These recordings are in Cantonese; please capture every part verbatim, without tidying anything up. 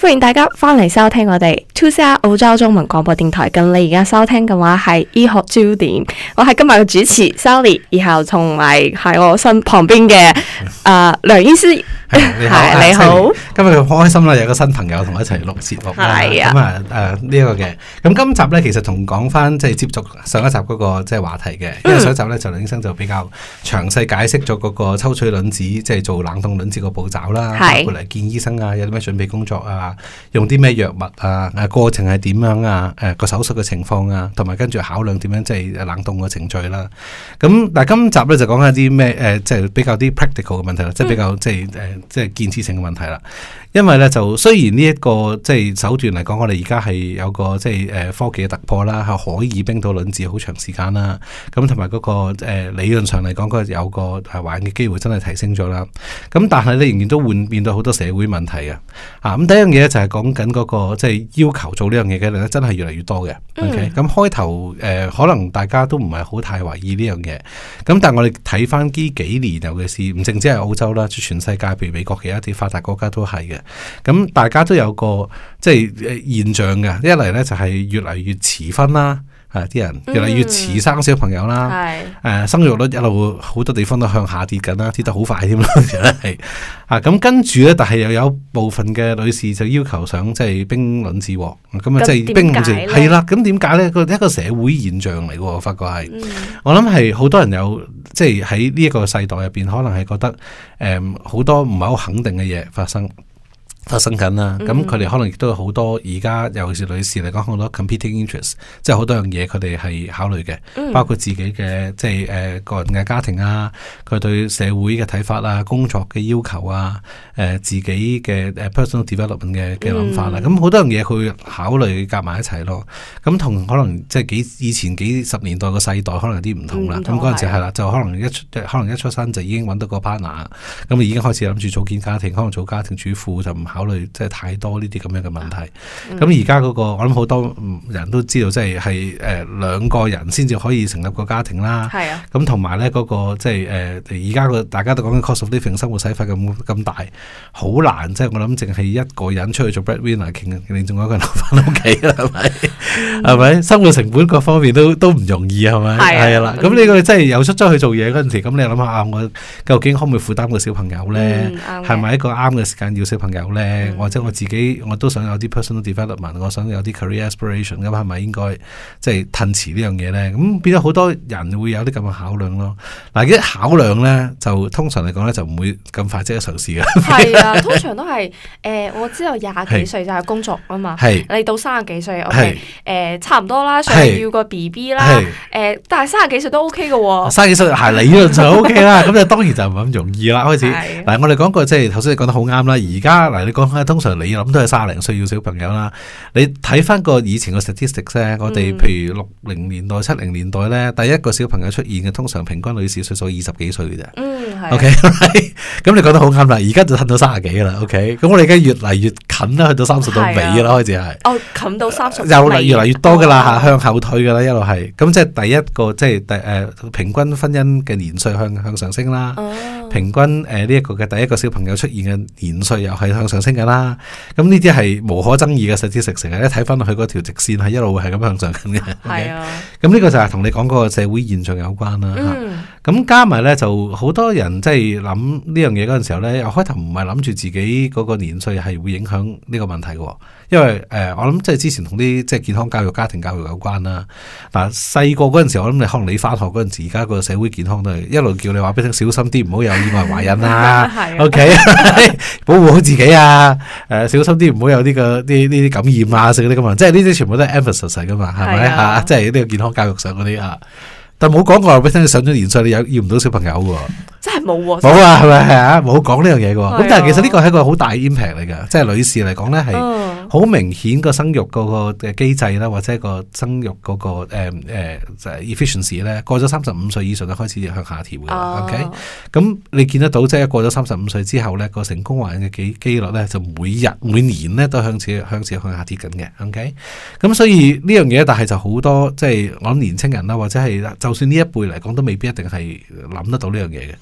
歡迎大家翻嚟收聽我哋 two C R 澳洲中文廣播電台。咁你而家收聽嘅話係醫學焦點，我係今日嘅主持 Sally， 然後同埋喺我身旁邊嘅誒梁醫師。 你好， 係你好。 今日好開心啦，有個新朋友同我一齊錄節目啦。係啊，咁啊誒呢一個嘅，咁今集咧其實同講翻即係接續上一集嗰個即係話題嘅，因為上一集咧就梁醫生就比較詳細解釋咗嗰個抽取卵子即係做冷凍卵子個步驟啦，包括嚟見醫生啊，有啲咩準備工作啊，用啲咩藥物啊，誒過程係點樣啊，誒個手術嘅情況啊，同埋跟住考量點樣即係冷凍嘅程序啦。咁但係今集咧就講下啲咩誒，即係比較啲 practical 嘅問題啦，即係比較即係誒。即係建設性嘅問題啦，因為咧就雖然呢、這、一個即係手段嚟講，我哋而家係有個即係誒科技嘅突破啦，係可以冰到卵子好長時間啦，咁同埋嗰個誒、呃、理論上嚟講，嗰有個係懷孕嘅機會真係提升咗啦。咁但係咧仍然都會面對好多社會問題嘅。啊，咁第一樣嘢就係講緊嗰個即係要求做呢樣嘢嘅人咧，真係越嚟越多嘅。嗯、OK，咁開頭誒可能大家都唔係好太懷疑呢樣嘢，咁但係我哋睇翻呢幾年，尤其是唔淨止係澳洲啦，全世界譬如美國嘅一啲發達國家都係嘅。咁大家都有個即係現象嘅，一嚟咧就係越嚟越遲婚啦，啊啲人越嚟越遲生小朋友啦，誒、嗯呃、生育率一路好多地方都向下跌緊啦，跌得好快添啦，係啊咁跟住咧，但係又有部分嘅女士就要求想即係冰卵子，咁啊即係冰卵子係啦，咁點解咧？個一個社會現象嚟嘅，我發覺係，嗯、我諗係好多人有即係喺呢一個世代入邊，可能係覺得誒好、呃、多唔係好肯定嘅嘢發生。發生緊啦，咁佢哋可能亦都有好多而家尤其是女士嚟講好多 competing interest， 即係好多樣嘢佢哋係考慮嘅，嗯、包括自己嘅即係誒、呃、個人嘅家庭啊，佢對社會嘅睇法啊，工作嘅要求啊，誒、呃、自己嘅誒 personal development 嘅嘅諗法啦，咁好、嗯、多樣嘢佢會考慮夾埋一齊咯。咁同可能即係幾以前幾十年代個世代可能有啲唔同啦。咁嗰陣時係啦，就可能一出可能一出生就已經揾到個 partner， 咁已經開始諗住組建家庭，可能做家庭主婦就唔考慮即係太多呢啲咁樣嘅問題，咁而家嗰個我諗好多人都知道，即係係誒兩個人先至可以成立個家庭啦。係啊，咁同埋咧嗰個即係誒而家個大家都講緊 cost of living 生活使費咁咁大，好難即係我諗淨係一個人出去做 breadwinner，另仲有一個人留翻屋企啦，係咪？係咪？生活成本各方面都都唔容易係咪？係啦，咁呢個真係有出咗去做嘢嗰陣時，咁你諗下啊，我究竟可唔可以負擔個小朋友咧？係咪一個啱嘅時間要小朋友咧？或者我自己我都想有啲 personal development， 我想有啲 career aspiration， 咁係咪應該即係褪遲呢樣嘢咧？咁變咗好多人會有啲咁嘅考量咯。嗱，一考量咧，就通常嚟講咧，就唔會咁快即刻嘗試嘅。係啊，通常都係誒、呃，我知道廿幾歲就係工作啊嘛。係你到三十幾歲，OK，誒差唔多啦，想要個 B B 啦，誒、呃，但係三十幾歲都 OK 嘅喎。三十幾歲係理論就 OK 啦，咁就當然就唔係咁容易啦。開始嗱，我哋講過即係頭先你講得好啱啦。而家嗱，你講通常你諗都係卅零歲要小朋友啦。你睇翻個以前個 statistics 咧，我哋譬如六零年代、七零年代咧，第一個小朋友出現嘅通常平均女士歲數二十幾歲嘅啫。嗯，係。OK，咁你講得好啱啦。而家就褪到三十幾啦。OK，咁我哋而家越嚟越近啦，去到三十到尾啦，開始係。哦，近到三十。又嚟越嚟越多噶啦，向後退噶啦，一路係。咁即係第一個，即係第誒平均婚姻嘅年歲向向上升啦。哦。平均誒呢一個嘅第一個小朋友出現嘅年歲又係向上升噶啦。咁呢啲係無可爭議嘅實質食成日，一睇翻落去嗰條直線係一路係咁向上緊嘅。係啊，咁呢個就係同你講嗰個社會現象有關啦。咁、嗯、加埋咧就好多人即係諗呢樣嘢嗰陣時候咧，又開頭唔係諗住自己嗰個年歲係會影響呢個問題嘅，因為誒、呃、我諗即係之前同啲即係健康教育、家庭教育有關啦。嗱，細個嗰陣時候我諗你可能你翻學嗰陣時，而家個社會健康都係一路叫你話俾你聽小心啲，唔好有意外懷孕啦。O K， 保護好自己啊！誒、呃，小心啲唔好有呢、這個啲呢啲感染啊，食嗰啲咁啊，即係呢啲全部都係 emphasis 嚟噶嘛，係咪啊？即係呢個健康教育上嗰啲啊。但冇講過話俾你聽，上咗年歲你有要唔到小朋友嘅，真係冇喎。冇啊，係咪係啊？冇講呢樣嘢嘅。咁但係其實呢個係一個好大 impact 嚟嘅，即係女士嚟講咧係好明顯個生育嗰個嘅機制啦，或者個生育嗰、那個誒誒、呃呃、efficiency 咧，過咗三十五歲以上就開始向下調嘅。哦、OK，咁你見得到即係過咗三十五歲之後咧，個成功懷孕嘅機機率咧就每日每年咧都向次向次向下跌緊嘅。OK，咁所以呢樣嘢，但係就好多即係我諗年青人啦，或者係就。就算呢一輩嚟講都未必一定係諗得到呢樣嘢嘅，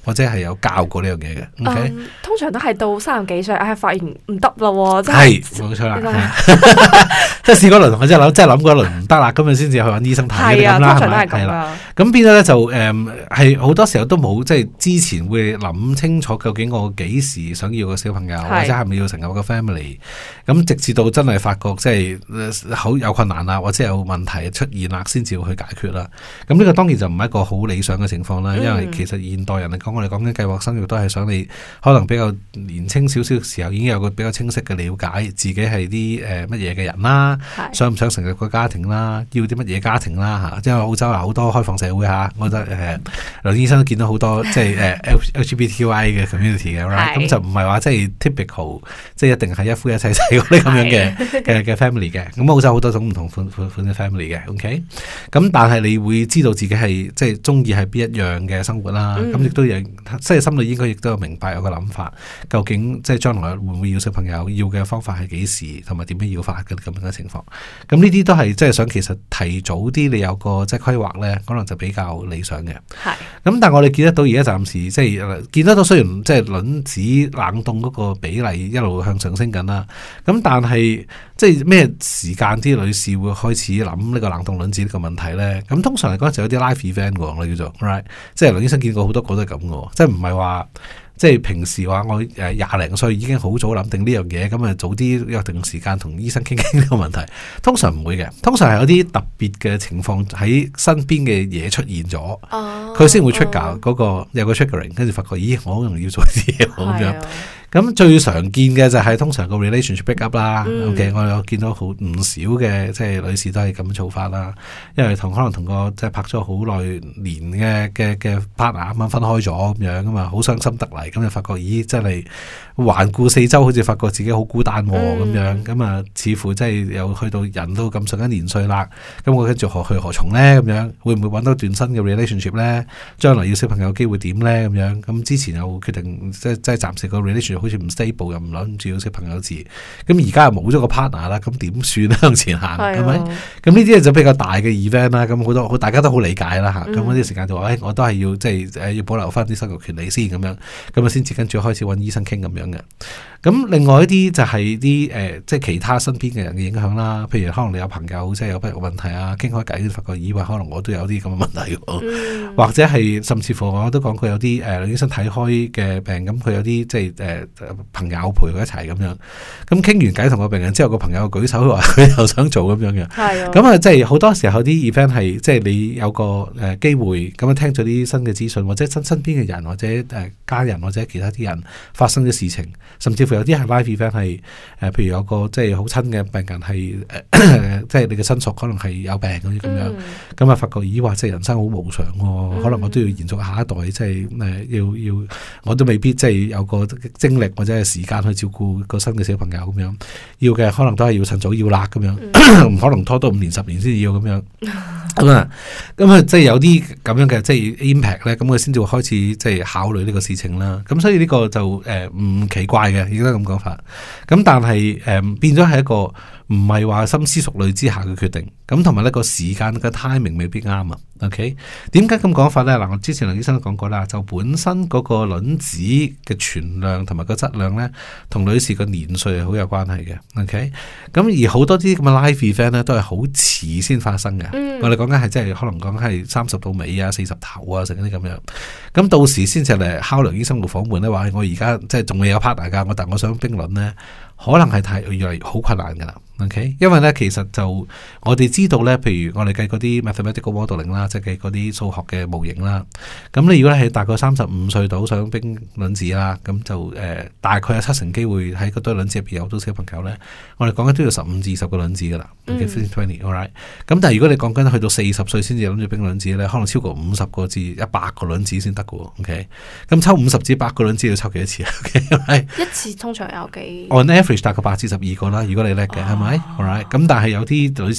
或者係有教過呢樣嘢嘅。OK， 嗯、通常都係到三十幾歲，唉、哎，發現唔得咯，真係冇錯啦，即係試過一輪，我真係諗，真係諗過一輪唔得啦，咁啊先至去揾醫生睇咁啦，係咪？係啦，咁變咗咧就誒係好多時候都冇即係之前會諗清楚究竟我幾時想要個小朋友，或者係咪要成立個 family，咁直至到真係發覺即係好有困難啦，或者有問題出現啦，先至會去解決啦。咁呢個當然就唔係一個好理想嘅情況啦，因為其實現代人嚟講，我哋講緊計劃生育都係想你可能比較年輕少少嘅時候已經有個比較清晰嘅了解，自己係啲誒乜嘢嘅人啦，想唔想成立個家庭啦，要啲乜嘢家庭啦嚇。因為澳洲有好多開放社會嚇，我覺得誒梁醫生都見到好多即係誒 L G B T Q I 嘅 community 嘅，咁就唔係話即係 typical，即係一定係一夫一妻制嗰啲咁樣嘅嘅嘅 family 嘅。咁澳洲好多種唔同款款款嘅 family 嘅 ，OK。咁但係你會知道自己係即係中意係邊一樣嘅生活啦。咁亦都有即係心裏應該亦都有明白有個諗法，究竟即係將來會唔會要小朋友，要嘅方法係幾時，同埋點樣要法嘅咁樣嘅情況。咁呢啲都係即係想其實提早啲，你有個即係規劃咧，可能就比較理想嘅。係。咁但係我哋見得到而家暫時即係見得到，雖然即係卵子冷凍嗰個比例一路向上升緊啦。咁但係即係咩時間啲女士會開始諗呢個冷凍卵子呢個問題咧？咁通常嚟講就有啲 live event 喎，我哋叫做 right， 即係梁醫生見過好多個都係咁嘅，即係唔係話。即係平時話我誒廿零歲已經好早諗定呢樣嘢，咁啊早啲約定時間同醫生傾傾呢個問題。通常唔會嘅，通常係有啲特別嘅情況喺身邊嘅嘢出現咗，佢先、oh, 會 trigger 嗰、嗰個、oh. 有個 triggering， 跟住發覺咦我好容易要做啲嘢咁樣。咁最常見嘅就係通常個 relationship break up 啦。嗯、OK，我有見到好唔少嘅即係女士都係咁做法啦，因為同可能同個即係拍咗好耐年嘅嘅嘅 partner 啱啱分開咗咁樣啊嘛，好傷心得嚟，咁就發覺咦真係環顧四周，好似發覺自己好孤單咁、嗯、樣，咁啊似乎真係有去到人都咁上緊年歲啦，咁我跟住何去何從咧？咁樣會唔會揾到段新嘅 relationship 咧？將來要小朋友機會點咧？咁樣咁之前又決定即係即係暫時個 relationship 好似唔 stable， 又唔諗住要小朋友字，咁而家又冇咗個 partner 啦，咁點算咧？向前行係咪？咁呢啲就比較大嘅 event 啦，咁好多大家都好理解啦嚇。咁嗰啲時間就話，誒、哎、我都係要即係誒要保留翻啲生育權利先咁樣，咁啊先至跟住開始揾醫生傾咁樣嘅。咁另外一啲就係啲誒即係其他身邊嘅人嘅影響啦，譬如可能你有朋友即係有不育問題啊，傾開偈都發覺以為可能我都有啲咁嘅問題喎，嗯、或者係甚至乎我都講過有啲誒醫生睇開嘅病，咁佢有啲即係誒朋友陪佢一齊咁樣，咁傾完偈同個病人之後，個朋友舉手話佢又想做咁樣嘅，咁啊即係好多時候啲 event 係即係你有個誒機會咁樣聽咗啲新嘅資訊，或者身身邊嘅人或者誒家人或者其他啲人發生嘅事情，甚至乎有啲係 live event 係誒、呃，譬如有個即係好親嘅病人係誒，即係你嘅親屬可能係有病嗰啲咁樣，咁啊、嗯、發覺咦話即係人生好無常喎、哦，嗯、可能我都要延續下一代，即係誒、呃、要要我都未必即係有個精力或者係時間去照顧個新嘅小朋友咁樣，要嘅可能都係要趁早要啦咁樣，唔、嗯、可能拖到五年十年先至要咁樣。咁啊，咁啊，即係有啲咁樣嘅即係 impact 咧，咁佢先至會開始即係考慮呢個事情啦。咁所以呢個就誒唔奇怪嘅，應該咁講法。咁但係誒變咗係一個唔係話深思熟慮之下嘅決定。咁同埋呢個時間嘅 timing 未必啱啊。OK，點解咁講法咧？嗱，我之前梁醫生都講過啦，就本身嗰個卵子嘅存量同埋個質量咧，同女士個年歲係好有關係嘅。OK，咁而好多啲咁嘅 live event 咧，都係好遲先發生嘅。嗯、我哋講緊係即係可能講係三十到尾啊，四十頭啊，成啲咁樣。咁到時先至嚟敲梁醫生個房門咧，話我而家即係仲未有 partner 㗎，我但我想冰卵咧，可能係太越嚟越好困難㗎啦。OK，因為咧其實就我哋知道咧，譬如我哋計嗰啲 mathematical modeling 啦，即係計嗰啲數學嘅模型啦。咁你如果係大概三十五歲到想冰卵子啦，咁就誒、呃、大概有七成機會喺嗰堆卵子入邊有到小朋友咧。我哋講緊都要十五至二十個卵子㗎啦。OK，fifteen twenty，all right。咁但係如果你講緊去到四十歲先至諗住冰卵子咧，可能超過五十個至一百個卵子先得㗎喎。OK，咁抽五十至百個卵子要抽幾多次啊 ？OK，一次通常有幾 ？On average 大概八至十二個啦。如果你叻嘅係咪？Alright，咁但係有啲女士去到嗰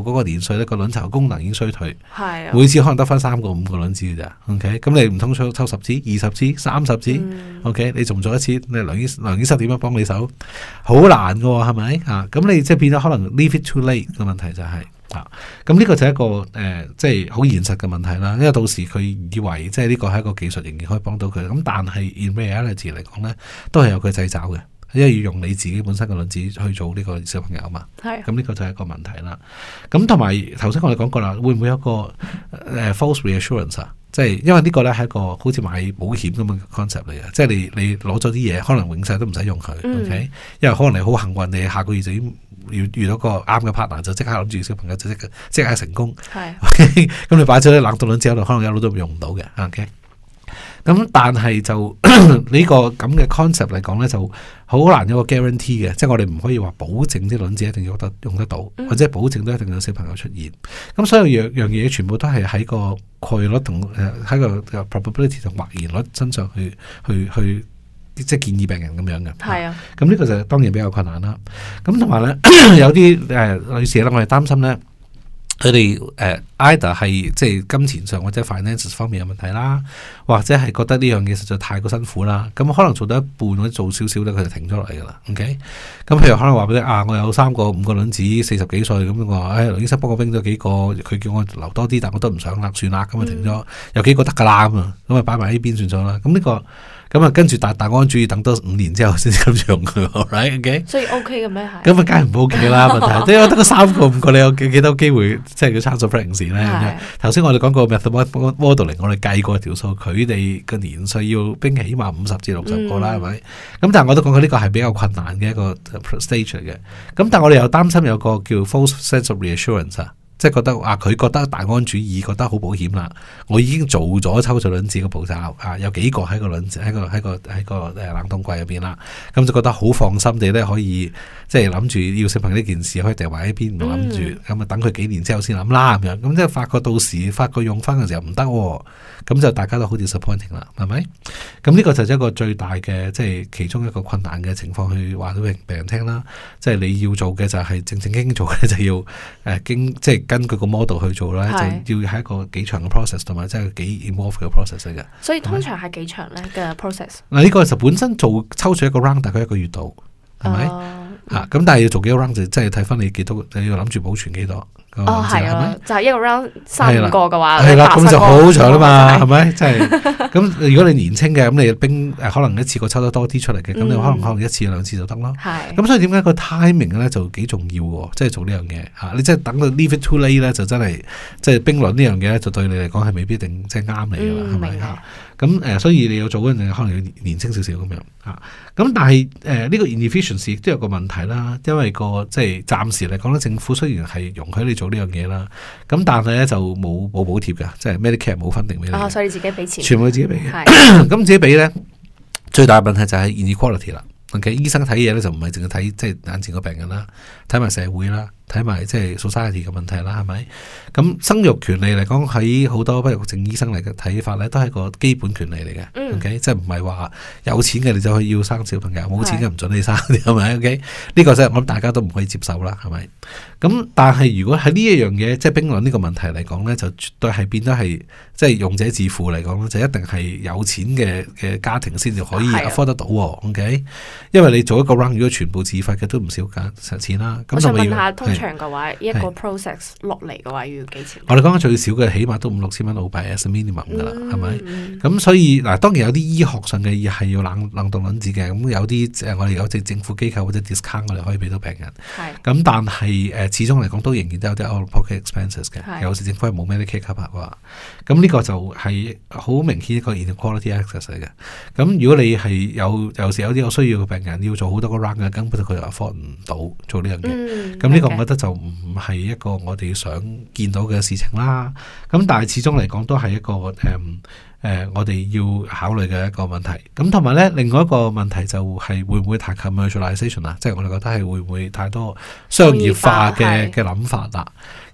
嗰個年歲咧，個卵巢功能已經衰退， 係每次可能得翻三個五個卵子嘅咋 ，OK？咁你唔通抽抽十支、二十支、三十支、嗯、？OK？你做唔做一次？你梁醫梁醫生點樣幫你手？好難噶喎，係咪啊？咁你即係變咗可能 leave it too late 嘅問題就係、是。啊，咁呢個就係一個誒、呃，即係好現實嘅問題啦。因為到時佢以為即係呢個係一個技術仍然可以幫到佢，咁但係 in reality 嚟講咧，都係有佢掣肘嘅，因為要用你自己本身嘅卵子去做呢個小朋友嘛。係，咁呢個就係一個問題啦。咁同埋頭先我哋講過啦，會唔會有一個誒、呃、false reassurance 啊？即係因為呢個咧係一個好似買保險咁嘅 concept 嚟嘅，即係你你攞咗啲嘢，可能永世都唔使用佢、嗯、，OK？因為可能你好幸運，你下個月就已經遇遇到個啱嘅 partner，就即刻諗住小朋友就即刻即刻成功。係，咁你擺咗啲冷凍卵子喺度，可能一路都用唔到嘅。OK？咁但係就呢、這個咁嘅 concept 嚟講咧，就好難有個 guarantee 嘅，即係我哋唔可以話保證啲卵子一定要得用得到，嗯、或者保證都一定有小朋友出現。咁所有樣樣嘢全部都係喺個概率同誒喺個 probability 同或然率身上去去去即係建議病人咁樣嘅。係啊，咁呢個就當然比較困難啦。咁同埋咧有啲誒、呃、女士咧，我哋擔心咧。佢哋誒 either 係即係金錢上或者 finance 方面有問題啦，或者係覺得呢樣嘢實在太過辛苦啦，咁可能做到一半或者做少少咧，佢就停咗落嚟噶啦。OK，咁譬如可能話俾你啊，我有三個五個卵子，四十幾歲咁，我話誒，梁醫生幫我冰咗幾個，佢叫我留多啲，但我都唔想啦，算啦，咁啊停咗，嗯、有幾個得噶啦咁啊，咁啊擺埋喺邊算咗啦。咁呢、這個咁啊跟住大大安主義等多五年之後先至咁用佢 ，right OK？所以 OK 嘅咩係？咁啊梗係唔 OK 啦，問題，即係我得個三個五個，你有幾幾多機會即係叫 chance of pregnancy 咧？頭先我哋講過 method modeling，我哋計過條數，佢哋嘅年歲要冰起碼五十至六十個啦，係咪、嗯？咁但係我都講過呢個係比較困難嘅一個 stage 嚟嘅。咁但係我哋又擔心有個叫 false sense of reassurance 啊。即係覺得啊，佢覺得大安主義，覺得好保險啦。我已經做咗抽取卵子嘅步驟啊，有幾個喺個卵子喺個喺個喺個誒冷凍櫃入邊啦。咁就覺得好放心地咧，可以即係諗住要小朋友呢件事可以掉埋喺邊，唔諗住咁啊，等佢幾年之後先諗啦咁樣。咁即係發覺到時發覺用翻嘅時候唔得，咁就大家都好 disappointing 啦，係咪？咁呢個就係一個最大嘅即係其中一個困難嘅情況，去話到俾病人聽啦。即係你要做嘅就係正正經經做嘅，就要誒、呃、經即係。根據個 model 去做咧，就要係一個幾長嘅 process， 同埋即係幾 involve 嘅 process 嚟嘅。所以通常係幾長咧嘅 process？嗱，呢個就本身做抽取一個 round 大概一個月度，係咪？嚇，咁但係要做幾個 round 就即係睇翻你幾多，你要諗住保存幾多。哦，係啊，就係一個 round 三個嘅話，係啦，咁就好長啦嘛，係咪？即係咁，如果你年青嘅，咁你冰誒可能一次過抽得多啲出嚟嘅，咁你可能可能一次兩次就得咯。係，咁所以點解個 timing 咧就幾重要喎？即係做呢樣嘢嚇，你即係等到 leave it too late 咧，就真係即係冰卵呢樣嘢咧，就對你嚟講係未必定即係啱你㗎啦，係咪嚇？咁誒，所以你要做嗰陣，可能要年青少少咁樣嚇。咁但係誒呢個 inefficiency 亦都有個問題啦，因為個即係暫時嚟講咧，政府雖然係容許你做呢樣嘢啦，咁但係咧就冇冇補貼嘅，即係 Medicare 冇分定俾你。哦，所以你自己俾錢，全部自己俾嘅。咁自己俾咧，最大嘅問題就係 inequality 啦。OK，醫生睇嘢咧就唔係淨係睇即係眼前個病人啦，睇埋社會啦。睇埋即係 society 嘅問題啦，係咪？咁生育權利嚟講，喺好多不育症醫生嚟嘅睇法咧，都係個基本權利嚟嘅。嗯、OK，即係唔係話有錢嘅你就可以要生小朋友，冇錢嘅唔准你生，係咪？OK，呢個即係我諗大家都唔可以接受啦，係咪？咁但係如果喺呢一樣嘢，即係冰卵呢個問題嚟講咧，就絕對係變得係即係用者自負嚟講咧，就一定係有錢嘅嘅家庭先至可以 afford 得到。OK，因為你做一個 round 如果全部自費嘅都唔少價錢啦。咁我想問下通常嘅話，一個 process 落嚟嘅話要幾錢？我哋講緊最少嘅，起碼都五六千蚊澳幣 as a minimum 噶啦，係咪？咁所以嗱，當然有啲醫學上嘅嘢係要冷冷凍卵子嘅，咁有啲誒我哋有隻政府機構或者 discount 我哋可以俾到病人。咁但係誒、呃、始終嚟講都仍然都有啲 out of pocket expenses 嘅，有時政府係冇 Medicare cover 嘅話，咁呢個就係好明顯一個 inequality access 嚟嘅。咁如果你係有有時有啲有需要嘅病人要做好多個 round 嘅，根本佢就 afford 唔到做呢樣嘢。咁呢個我覺得就唔係一個我哋想見到嘅事情啦。咁但係始終嚟講都係一個誒誒、嗯呃，我哋要考慮嘅一個問題。咁同埋咧，另外一個問題就係會唔會太 commercialization 啊？即係我哋覺得係會唔會太多商業化嘅嘅諗法啦？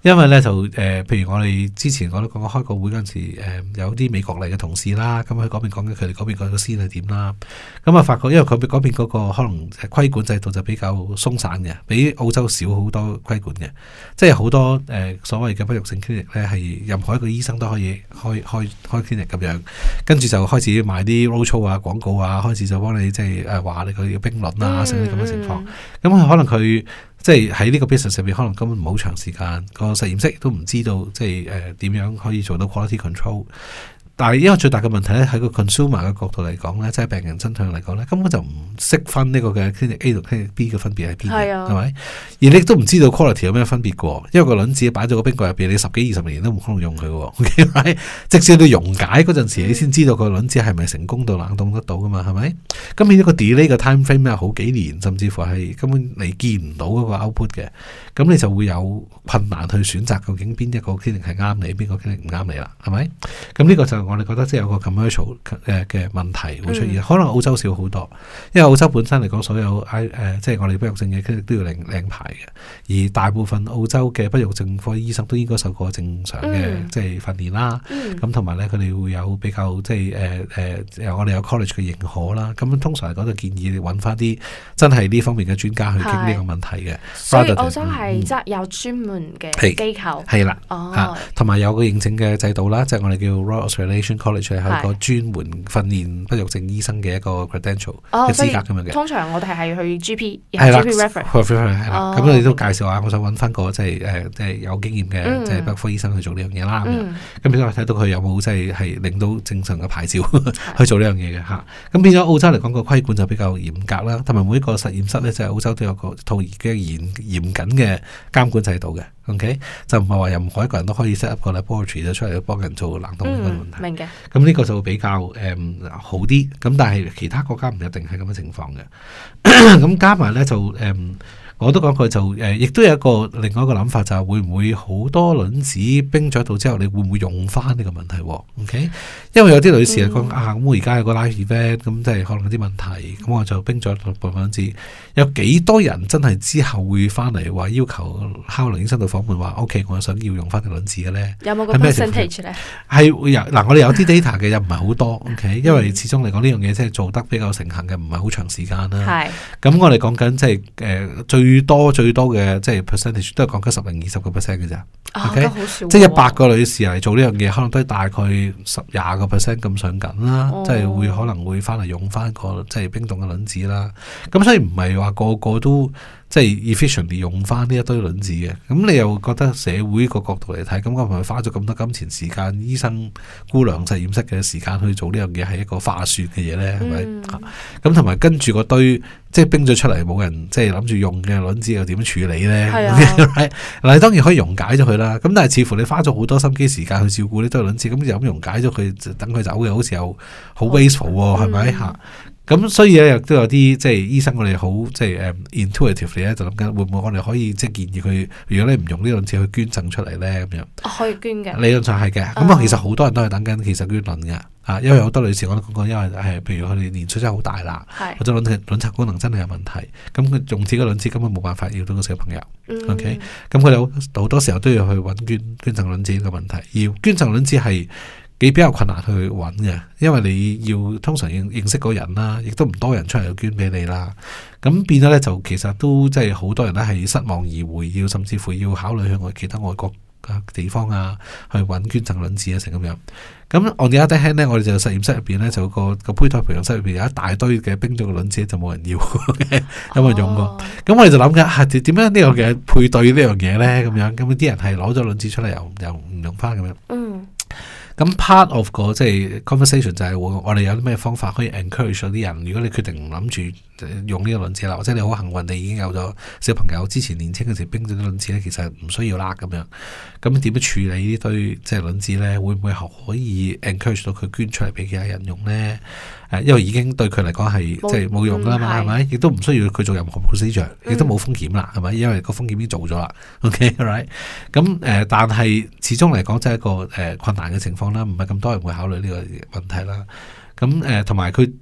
因為咧就誒、呃，譬如我哋之前我都講過開個會嗰陣時，誒、呃、有啲美國嚟嘅同事啦，咁喺嗰邊講緊佢哋嗰邊個先係點啦。咁啊發覺，因為佢哋嗰邊嗰個可能規管制度就比較鬆散嘅，比澳洲少好多規管嘅，即係好多誒、呃、所謂嘅不育症 clinic 咧，係任何一個醫生都可以開開開 clinic 咁樣，跟住就開始賣啲 roadshow 啊、廣告啊，開始就幫你即係誒話你佢要冰輪啊，成啲咁嘅情況。咁佢可能佢。即係喺呢個 business 上面，可能根本唔好長時間，個實驗室都唔知道，即係誒點樣可以做到 quality control。但係因為最大嘅問題咧，喺個 consumer 嘅角度嚟講咧，即係病人身上嚟講咧，根本就唔識分呢個嘅 clinic A 同 clinic B 嘅分別喺邊嘅，係咪？而你都唔知道 quality 有咩分別嘅，因為個卵子擺咗個冰櫃入邊，你十幾二十年都冇可能用佢嘅。Okay? 直至你溶解嗰陣時，你先知道個卵子係咪成功到冷凍得到噶嘛？係咪？咁變咗個 delay 嘅 time frame 咧，好幾年，甚至乎係根本你見唔到嗰個 output 嘅，咁你就會有困難去選擇究竟邊一個 clinic 係啱你，邊個 clinic 唔啱你啦，係咪？咁呢個就我哋覺得即係有個 commercial 嘅嘅問題會出現，嗯、可能澳洲少好多，因為澳洲本身嚟講，所有 I 誒、呃、即係我哋不育症嘅 clinic 都要領領牌嘅，而大部分澳洲嘅不育症科醫生都應該受過正常嘅、嗯、即係訓練啦，咁同埋咧佢哋會有比較即係誒誒我哋有 college 嘅認可啦，咁通常嚟講就建議你揾翻啲真係呢方面嘅專家去傾呢個問題嘅。 所以澳洲係即係有專門嘅機構，係啦， 哦，同埋、啊、有個認證嘅制度啦，即係我哋叫 Royal Australian College 係一個專門訓練不育症醫生嘅一個 credential 嘅資格咁樣嘅。通常我哋係去 G P， 係啦 ，G P reference 係啦。咁你都介紹下，我想揾翻個即係誒即係有經驗嘅、嗯、即係不育科醫生去做呢樣嘢啦。咁變咗睇到佢有冇即係係領到正常嘅牌照去做呢樣嘢嘅嚇。咁變咗澳洲嚟講個規管就比較嚴格啦，同埋每一個實驗室咧，即係澳洲都有個套嘅嚴嚴謹嘅監管制度嘅。OK， 就唔係話任何一個人都可以 set up 個 laboratory 就出嚟幫人做冷凍呢個問題。嗯、明嘅。咁呢個就會比較誒、嗯、好啲。咁但係其他國家唔一定係咁嘅情況嘅。咁加埋咧就誒。嗯我都講佢就誒，亦、呃、都有一個另外一個諗法，就係會唔會好多卵子冰咗喺度之後，你會唔會用翻呢個問題 ？OK，因為有啲女士嚟講、嗯、啊，咁我而家有個 live event，咁即係可能有啲問題，咁我就冰咗部分卵子。有幾多人真係之後會翻嚟話要求敲林醫生度訪問話 ，OK， 我想要用翻啲卵子嘅咧？有冇個 percentage 咧？係會有嗱，我哋有啲 data 嘅，又唔係好多。OK，因為始終嚟講呢樣嘢即係做得比較成行嘅，唔係好長時間啦。係。咁我哋講緊即係誒最。最多最多嘅即係 percentage 都係講緊十零二十個 percent 嘅咋，OK，即係一百個女士嚟做呢樣嘢，可能都係大概十廿個 percent 咁上緊啦，哦、即係會可能會翻嚟用翻個即係冰凍嘅卵子啦。咁所以唔係話個個都即係 efficiently 用翻呢一堆卵子嘅。咁你又覺得社會個角度嚟睇，咁我係咪花咗咁多金錢時間、醫生姑娘實驗室嘅時間去做呢樣嘢係一個划算嘅嘢咧？係咪、嗯？咁同埋跟住個堆。即係冰咗出嚟冇人即係諗住用嘅卵子又點樣處理咧？係啊，嗱當然可以溶解咗佢啦。咁但係似乎你花咗好多心機時間去照顧呢堆卵子，咁就咁溶解咗佢，等佢走嘅，好似又好 wasteful 喎，係咪嚇？咁所以咧亦都有啲即係醫生我哋好即係誒 intuitive 咧，就諗緊會唔會我哋可以即係建議佢，如果你唔用呢個卵子去捐贈出嚟咧咁樣，可以捐嘅。理論上係嘅。咁啊，其實好多人都係等緊其實捐卵嘅。啊，因為好多女士我都講過，因為係譬如佢哋年歲真係好大啦，或者卵卵巢功能真係有問題，咁佢用自己嘅卵子根本冇辦法要到個小朋友。嗯、OK，咁佢哋好多時候都要去揾捐捐贈卵子呢個問題，而捐贈卵子係幾比較困難去揾嘅，因為你要通常認認識嗰人啦，亦都唔多人出嚟捐俾你啦，咁變咗咧就其實都即係好多人咧係失望而回，要甚至乎要考慮去外其他外國地方啊，去揾捐贈卵子啊，成咁樣。咁 on the other hand 咧，我哋就實驗室入邊咧，就個個胚胎培養室入邊有一大堆嘅冰咗嘅卵子就冇人要，有冇人用過？咁、哦、我哋就諗緊係點樣呢個嘅配對呢樣嘢咧？咁樣咁啲人係攞咗卵子出嚟又又唔用翻咁樣。嗯。咁 part of 個即係 conversation 就係我哋有啲咩方法可以 encourage 咗啲人，如果你決定唔諗住用呢個卵子啦，或者你好幸運你已經有咗小朋友，之前年輕嘅時冰咗啲卵子咧，其實唔需要啦咁樣。咁點樣處理呢堆即係卵子咧？會唔會可以 encourage 到佢捐出嚟俾其他人用咧？誒，因為已經對佢嚟講係即係冇用噶啦嘛，係咪？亦都唔需要佢做任何 procedure，亦都冇風險啦，係咪？因為個風險已經做咗啦。OK，right？ 咁誒、呃，但係始終嚟講，即係一個誒、呃、困難嘅情況啦，唔係咁多人會考慮呢個問題啦。咁誒，同埋佢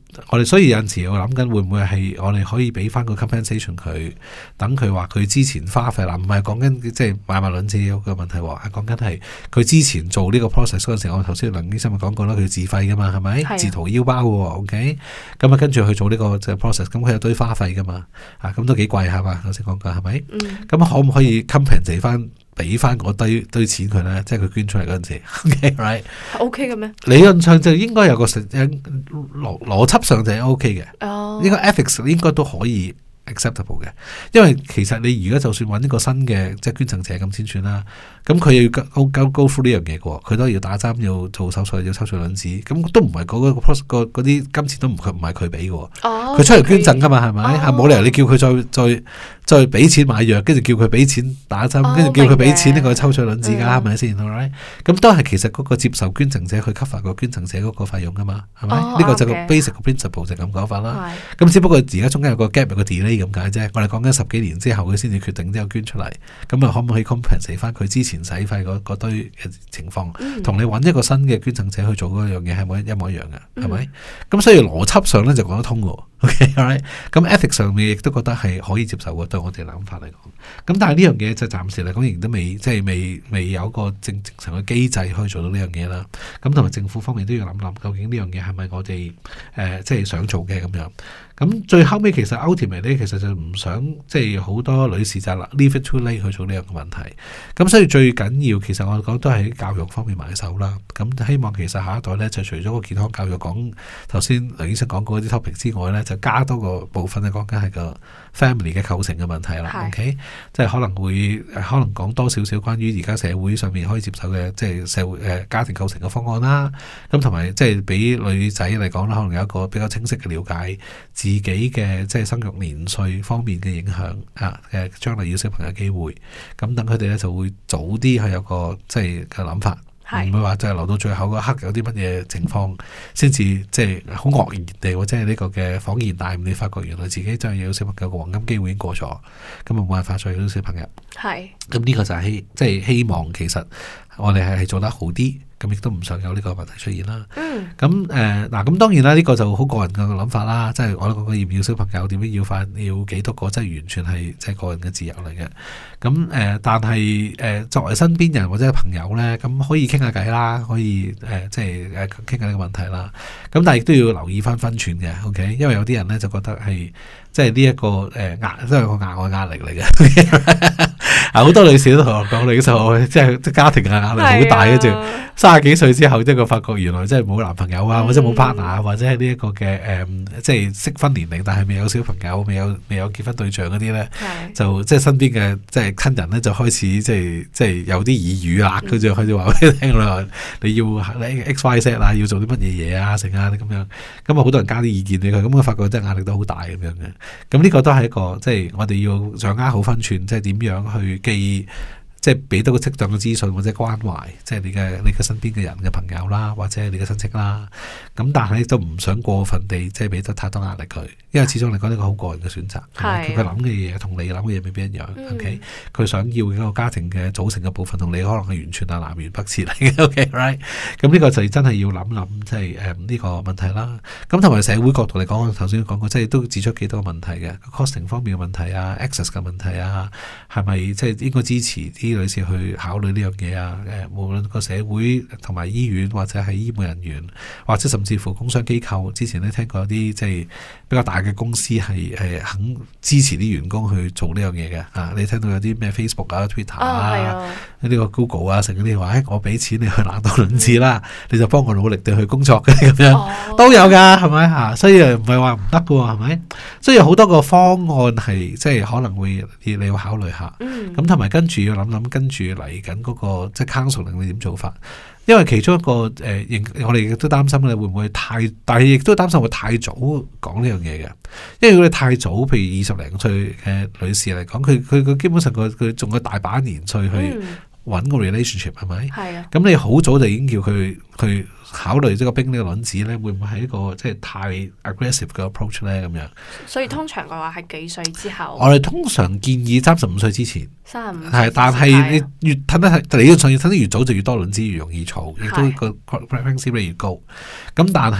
我哋所以有陣時我諗緊會唔會係我哋可以俾翻個 compensation 佢，等佢話佢之前花費啦，唔係講緊即係買賣卵子嘅問題喎，係講緊係佢之前做呢個 process 嗰陣時，我頭先梁醫生咪講過啦，佢自費噶嘛，係咪？是自掏腰包嘅喎 ，OK？咁啊跟住去做呢個 process，咁佢有堆花費噶嘛，啊咁都幾貴係嘛？頭先講過係咪？咁、嗯、可唔可以 compensate 翻？俾翻嗰堆堆錢佢咧，即係佢捐出嚟嗰陣時 ，OK right？係 OK 嘅咩？ 理論上就應該有個實邏邏輯上就係 OK 嘅，哦，呢個 ethics 應該都可以 acceptable 嘅，因為其實你而家就算揾一個新嘅即係捐贈者咁先算啦，咁佢要高高高呼呢樣嘢嘅喎，佢都要打針，要做手術，要抽取卵子，咁都唔係嗰個嗰啲金錢都唔佢唔係佢俾嘅喎，佢出嚟捐贈㗎嘛係咪？係冇理由你叫佢再再。再俾錢買藥，跟住叫佢俾錢打針，跟住、哦、叫佢俾錢呢個抽取卵子㗎，係咪先？咁、right? 都係其實嗰個接受捐贈者去 cover 個捐贈者嗰個費用㗎嘛，係咪？呢、哦、個就個 basic 嘅 principle 就咁講法啦。咁是只不過而家中間有個 gap 有個 delay 咁解啫。我哋講緊十幾年之後佢先至決定之後捐出嚟，咁啊可唔可以 compensate 翻佢之前使費嗰堆嘅情況，同、嗯、你揾一個新嘅捐贈者去做嗰樣嘢係咪一模一樣嘅？係咪？咁、嗯、所以邏輯上咧就講得通喎。OK，咁、right? ethics 上面亦都覺得係可以接受嘅，對我哋諗法嚟講。咁但係呢樣嘢就暫時嚟講，仍然都未即係未未有個正正常嘅機制可以做到呢樣嘢啦。咁同埋政府方面都要諗諗，究竟呢樣嘢係咪我哋誒、呃、即係想做嘅咁樣。咁最後尾其實 ultimate 咧，其實就唔想即係好多女士就 leave it too late 去做呢樣嘅問題。咁所以最緊要其實我講都係喺教育方面埋手啦。咁希望其實下一代咧就除咗個健康教育講頭先梁醫生講過啲 topic 之外咧，就加多個部分咧講緊係個 family 嘅構成嘅問題啦。是 OK，即係可能會可能講多少少關於而家社會上面可以接受嘅即係社會誒、呃、家庭構成嘅方案啦。咁同埋即係俾女仔嚟講啦，可能有一個比較清晰嘅了解。自己嘅即係生育年歲方面嘅影響啊，誒將來要小朋友機會，咁等佢哋咧就會早啲去有個即係嘅諗法，唔是會話就係留到最後嗰刻有啲乜嘢情況先至即係好愕然地或者係呢個嘅恍然大悟，你發覺原來自己真係有小朋友嘅黃金機會已經過咗，咁冇辦法再有小朋友。係是，咁呢個就係希即係希望其實我哋係係做得好啲。咁亦都唔想有呢個問題出現啦。咁誒嗱，咁、呃、當然啦，呢、這個就好個人嘅諗法啦。即係我都講過要唔要小朋友，點樣要快，要幾多個，即係完全係即係個人嘅自由嚟嘅。咁誒、呃，但係誒、呃、作為身邊人或者朋友咧，咁可以傾下偈啦，可以誒、呃、即係誒傾下呢個問題啦。咁但係亦都要留意翻分寸嘅，OK？因為有啲人咧就覺得係即係呢一個誒壓，都係個額外壓力嚟嘅。啊，好多女士都同我講，你就即係即係家庭嘅壓力好大，跟住三十幾歲之後，即係佢發覺原來即係冇男朋友啊，或者冇 partner 啊，或者係呢一個嘅誒，即係適婚年齡，但係未有小朋友，未有未有結婚對象嗰啲咧，就即係身邊嘅即係親人咧，就開始即係即係有啲耳語啊，佢就開始話俾你聽啦，你要你 X Y Z 啊，要做啲乜嘢嘢啊，成啊咁樣，咁啊好多人加啲意見俾佢，咁我發覺真係壓力都好大咁樣嘅。咁呢個都係一個即係我哋要掌握好分寸，即係點樣去記。即係俾到個適當嘅資訊或者關懷，即係你嘅你嘅身邊嘅人嘅朋友啦，或者係你嘅親戚啦。咁但係都唔想過分地即係俾得太多壓力佢，因為始終嚟講呢個好個人嘅選擇。佢佢諗嘅嘢同你諗嘅嘢未必一樣。嗯、OK，佢想要一個家庭嘅組成嘅部分同你可能係完全係南轅北轍嚟嘅。OK，right？ 咁呢個就真係要諗諗，即係誒呢個問題啦。咁同埋社會角度嚟講，我頭先講過，即係都指出幾多個問題嘅 costing 方面嘅問題啊 access 嘅問題啊，係咪即係應該支持啲女士去考慮呢樣嘢啊？誒，無論個社會同埋醫院或者係醫務人員，或者甚至乎工商機構，之前咧聽過有啲即係比較大嘅公司係誒肯支持啲員工去做呢樣嘢嘅啊！你聽到有啲咩 Facebook 啊、Twitter 啊，呢、哦、個 Google 啊，成嗰啲話誒，我俾錢你去冷凍卵子啦，嗯、你就幫我努力地去工作嘅咁樣，哦、都有噶，係咪嚇？所以唔係話唔得嘅喎，係咪？所以有好多個方案係即係可能會你要考慮下，咁同埋跟住要諗諗跟住嚟緊嗰個即係 counseling 你點做法？因為其中一個誒、呃，我哋亦都擔心你會唔會太，但係亦都擔心會太早講呢樣嘢嘅。因為如果你太早，譬如二十零歲嘅女士嚟講，佢佢佢基本上佢佢仲有大把年歲去揾個 relationship 係咪？係啊。咁你好早就已經叫佢去考慮即係個冰呢個卵子咧，會唔會係一個即係太 aggressive 嘅 approach 咧？咁樣。所以通常嘅話係幾歲之後？我哋通常建議三十五歲之前。三十五係，但係你越褪得係，理論上要褪得越早就越多卵子越容易儲，亦都個 pregnancy rate 越高。咁但係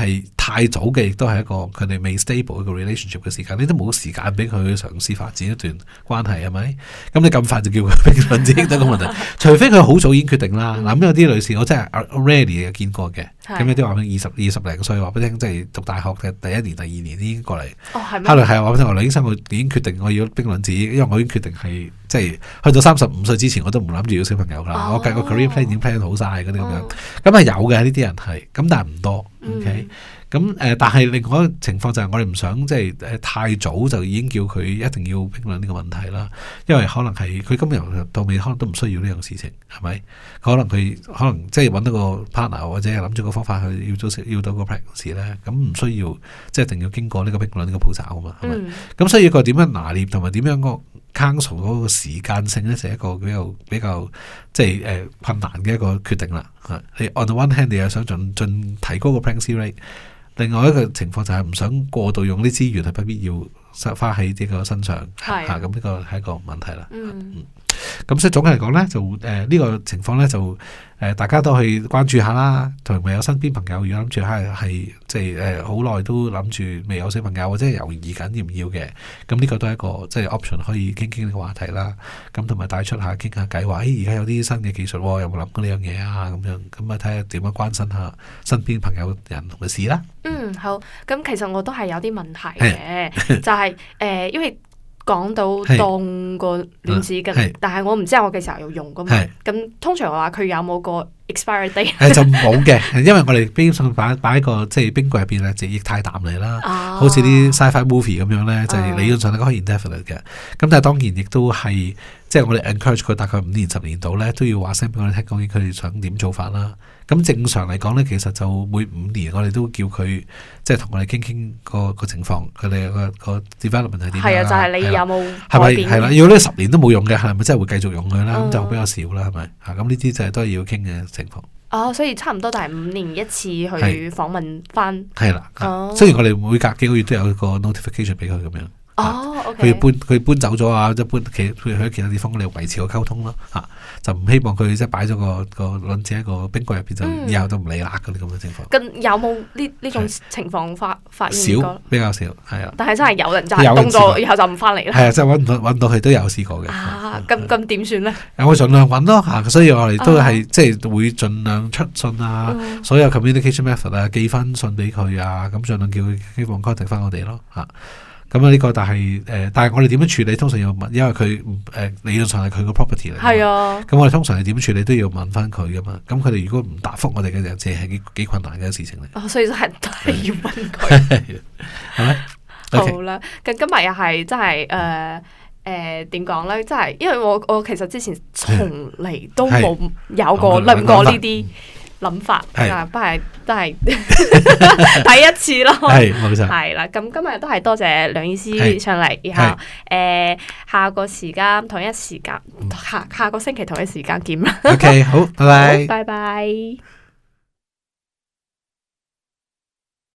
太早嘅，亦都係一個佢哋未 stable 一個 relationship 嘅時間，你都冇時間俾佢去嘗試發展一段關係，係咪？咁你咁快就叫佢冰卵子都係個問題，除非佢好早已經決定啦。嗱、嗯，咁有啲女士我真係 rarely 見過嘅，咁有啲話俾二十二十零歲話俾你聽，即係讀大學嘅第一年、第二年已經過嚟。哦，係咩？後來係話俾你聽，我劉醫生我已經決定我要冰卵子，因為我已經決定係即係去到三十五歲之前，我都唔諗住要小朋友啦。哦、我計個 career plan 已經 plan 好晒嗰啲咁樣，咁係有嘅呢啲人係，咁但係唔多。OK，咁誒、呃，但係另外一個情況就係我哋唔想即係誒太早就已經叫佢一定要冰卵呢個問題啦，因為可能係佢今日到尾可能都唔需要呢樣事情，係咪？可能佢可能即係揾到個 partner 或者係諗住個方法去要到要到個 pregnancy 咧，咁唔需要即係一定要經過呢個冰卵呢個步驟啊嘛，係咪？咁、嗯、所以個點樣拿捏同埋點樣個 counsel 嗰個時間性咧，就係一個比較比較即係誒、呃、困難嘅一個決定啦。你 on the one hand 你又想盡盡提高個 pregnancy rate， 另外一個情況就係唔想過度用啲資源係不必要花喺呢個身上，係咁呢個係一個問題啦。嗯，咁、嗯、所以總嘅嚟講咧，就誒呢、呃這個情況咧就。誒、呃，大家都去關注下啦，同埋有身邊朋友，如果諗住係係即係誒好耐都諗住未有小朋友，或者係猶豫緊要唔要嘅，咁呢個都係一個即係 option 可以傾傾呢個話題啦。咁同埋帶出下傾下偈，話誒而家有啲新嘅技術，有冇諗過呢樣嘢啊？咁樣咁啊睇下點樣關心下身邊朋友人同嘅事啦。嗯，好。咁其實我都係有啲問題嘅，就係、是、誒、呃，因為。講到當個卵子嘅，但係我唔知我幾時候要用噶嘛。咁通常話佢有冇個 expiry date？誒就冇嘅，因為我哋冰箱擺擺喺個即係冰櫃入邊咧，就液態氮嚟啦，哦、好似啲 sci-fi movie 咁樣咧，就係、是、理論上都可以 indefinite 嘅。咁、嗯、但係當然亦都係即係我哋 encourage 佢大概五年十年度咧，都要話聲俾我哋聽，究竟佢哋想點做法啦。咁正常嚟講咧，其實就每五年我哋都叫佢即係同我哋傾傾個個情況，佢哋個個 development 係點？係啊，就係、是、你有冇改變？係啦，如果呢十年都冇用嘅，係咪真係會繼續用佢啦？咁、嗯、就比較少啦，係咪？嚇，咁呢啲就係都係要傾嘅情況。哦，所以差唔多就係五年一次去訪問翻。係啦，哦。雖然我哋每隔幾個月都有個 notification 俾佢咁樣。哦，佢、okay、搬佢搬走咗啊，即係搬其佢去其他地方，我哋維持個溝通咯，吓、啊、就唔希望佢即係擺咗個個卵子喺個冰櫃入邊，就以後都唔理啦嗰啲咁嘅情況。咁有冇呢呢種情況發發現過？少，比較少，係啊。但係真係有人就係凍咗，以後就唔翻嚟啦。係啊，即係搵到搵到佢都有試過嘅。啊，咁咁點算咧？我盡量搵咯吓，所以我哋都係、啊、即係會盡量出信啊，嗯、所有 communication method 啊，寄翻信俾佢啊，咁盡量叫佢希望 contact 翻我哋咯吓。咁啊呢個但係誒、呃，但係我哋點樣處理？通常要問，因為佢誒、呃、理論上係佢個 property 嚟。係啊。咁我哋通常係點處理都要問翻佢噶嘛。咁佢哋如果唔答覆我哋嘅，就即係幾幾困難嘅事情嚟。哦，所以都係都係要問佢。係咪？好啦，咁今日又係真係誒誒點講咧？真係因為我我其實之前從嚟都冇有過諗過呢啲諗法，啊，不係都係第一次咯，係冇錯，係啦。咁今日都係多謝梁醫師上嚟，然後誒、呃、下個時間同一時間下下個星期同一時間見啦。OK，好，拜拜，拜拜。